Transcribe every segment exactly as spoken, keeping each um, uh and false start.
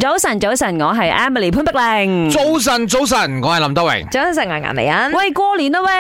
早晨，早晨，我係 Emily 潘碧玲。 早晨，早晨，我係林德榮。 早晨，我係顏美欣。 喂，過年啦喂，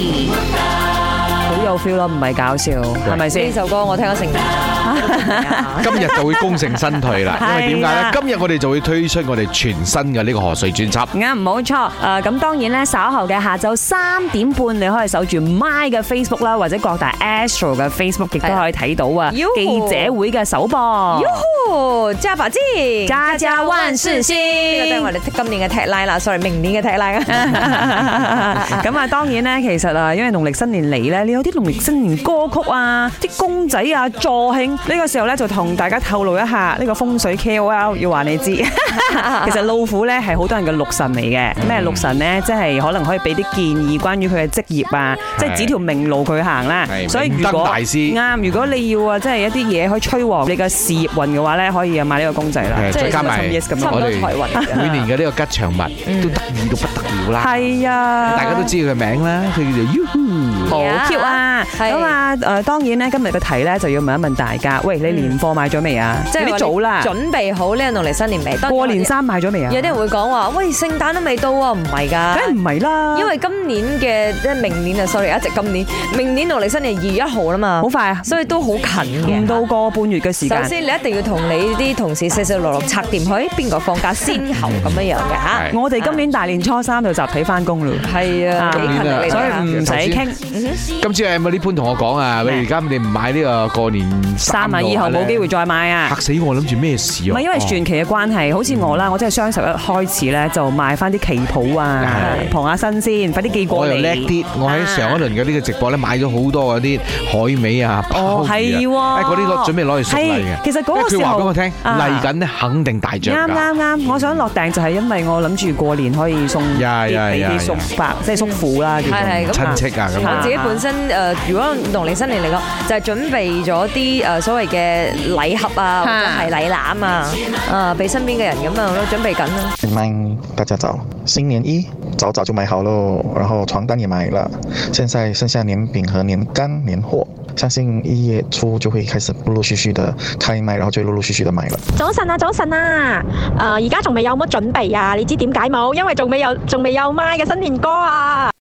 好有 feel 咯，唔係搞笑，係咪先？ 呢首歌我聽咗成年。 今日就會功成身退啦，因為點解咧？今日我哋就會推出我哋全新嘅呢個賀歲專輯。 啱，冇錯。誒，咁當然咧，稍後嘅下晝三點半，你可以守住 My 嘅 Facebook 啦，或者各大 Astro 嘅 Facebook 亦都可以睇到啊。記者會嘅首播。 喲，加把勁， 家家萬事興。 呢個都係我哋今年嘅 tagline 啦 ，sorry， 明年嘅 tagline 啊。 咁啊，當然咧，其實啊，因為農曆新年嚟咧，你有啲農曆新年歌曲啊，啲公仔啊，助興呢個時候咧，就同大家透露一下呢個風水 K O L 要話你知。其實老虎咧係好多人嘅六神嚟嘅，咩六神咧？即係可能可以俾啲建議關於佢嘅職業啊，即係指條明路佢行啦。所以如果啱，如果你要啊，即係一啲嘢可以催旺你嘅事業運嘅話咧，可以買呢個公仔啦。 再加埋我哋每年嘅呢個吉祥物都得意到不得了啦。 係啊， 大家都知佢嘅名啦，佢叫做 Yoo-hoo， 好 Q 啊！咁啊，誒當然咧，今日嘅題咧就要問一問大家，喂，你年貨買咗未啊？即係啲早啦， 準備好呢個農曆新年未？ 過年衫買咗未啊？ 有啲人會講話，喂，聖誕都未到啊，唔係㗎， 梗係唔係啦， 因為今年嘅即係明年啊 ，sorry， 一直今年，明年農曆新年二月一號啦嘛， 好快啊， 所以都好近嘅， 唔到個半月嘅時間。 首先你一定要同你啲同事細細落落拆掂佢，邊個放假先後咁樣樣嘅嚇。 我哋今年大年初三就集體翻工咯， 係啊，幾勤力， 所以唔使傾。 今次係咪呢潘同我講啊？喂，而家你唔買呢個過年衫啊，以後冇機會再買啊！ 嚇死我，諗住咩事啊？ 唔係因為傳奇嘅關係，好似我啦，我真係雙十一開始咧就買翻啲旗袍啊，傍下身先，快啲寄過嚟。 我又叻啲，我喺上一輪嘅呢個直播咧買咗好多嗰啲海味啊、鮑魚啊，誒嗰啲攞準備攞去送禮嘅。 其實嗰個時候佢話俾我聽嚟緊咧肯定大漲價。 啱啱啱，我想落訂就係因為我諗住過年可以送啲俾啲叔伯，即係叔父啦，叫做親戚啊咁。 我自己本身誒，如果農曆新年嚟講，就係準備咗啲誒所謂嘅禮盒啊，或者係禮籃啊，啊俾身邊嘅人咁啊，我都準備緊啦。 歡大家早，新年衣早早就買好咯，然後床單也買了，現在剩下年餅和年乾年貨，相信一月初就會開始陸陸續續的開賣，然後就陸陸續續的買了。 早晨啊，早晨啊，誒而家仲未有乜準備啊？你知點解冇？因為仲未有仲未有賣嘅新年歌啊！